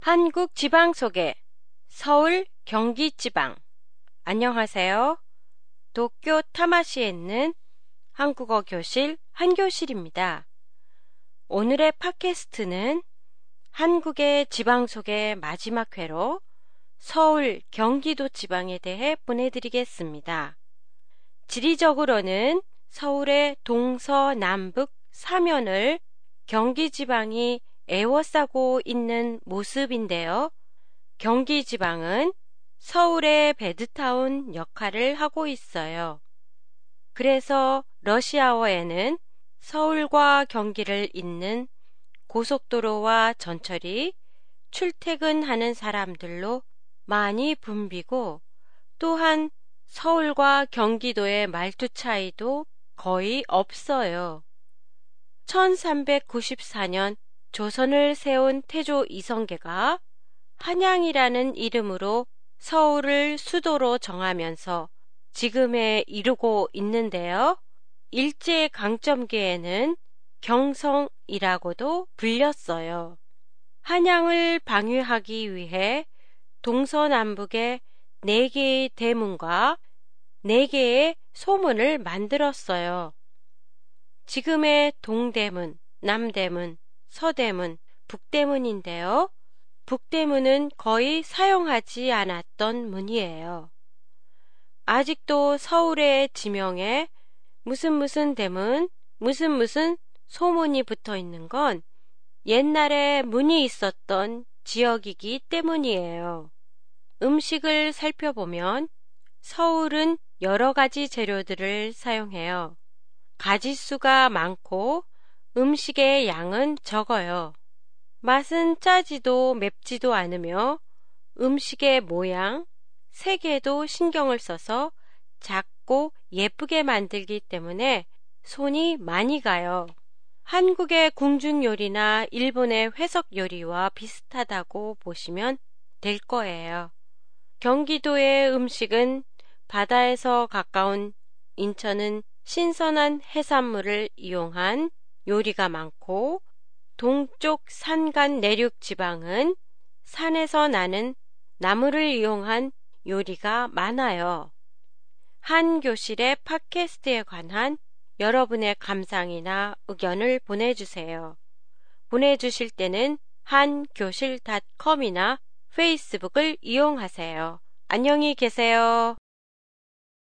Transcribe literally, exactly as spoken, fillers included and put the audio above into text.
한국 지방 소개, 서울, 경기 지방. 안녕하세요. 도쿄 타마시에 있는 한국어 교실 한교실입니다. 오늘의 팟캐스트는 한국의 지방 소개 마지막 회로 서울, 경기도 지방에 대해 보내드리겠습니다. 지리적으로는 서울의 동서남북 사면을 경기 지방이 에워싸고 있는 모습인데요. 경기 지방은 서울의 베드타운 역할을 하고 있어요. 그래서 러시아어에는 서울과 경기를 잇는 고속도로와 전철이 출퇴근하는 사람들로 많이 붐비고, 또한 서울과 경기도의 말투 차이도 거의 없어요. 천삼백구십사 년 조선을 세운 태조 이성계가 한양이라는 이름으로 서울을 수도로 정하면서 지금에 이르고 있는데요. 일제강점기에는 경성이라고도 불렸어요. 한양을 방위하기 위해 동서남북에 네 개의 대문과 네 개의 소문을 만들었어요. 지금의 동대문, 남대문, 서대문, 북대문인데요. 북대문은 거의 사용하지 않았던 문이에요. 아직도 서울의 지명에 무슨 무슨 대문, 무슨 무슨 소문이 붙어 있는 건 옛날에 문이 있었던 지역이기 때문이에요. 음식을 살펴보면 서울은 여러 가지 재료들을 사용해요. 가짓수가 많고 음식의 양은 적어요. 맛은 짜지도 맵지도 않으며 음식의 모양, 색에도 신경을 써서 작고 예쁘게 만들기 때문에 손이 많이 가요. 한국의 궁중 요리나 일본의 회석 요리와 비슷하다고 보시면 될 거예요. 경기도의 음식은 바다에서 가까운 인천은 신선한 해산물을 이용한 요리가 많고, 동쪽 산간 내륙 지방은 산에서 나는 나무를 이용한 요리가 많아요. 한 교실의 팟캐스트에 관한 여러분의 감상이나 의견을 보내주세요. 보내주실 때는 한교실 닷컴이나 페이스북을 이용하세요. 안녕히 계세요.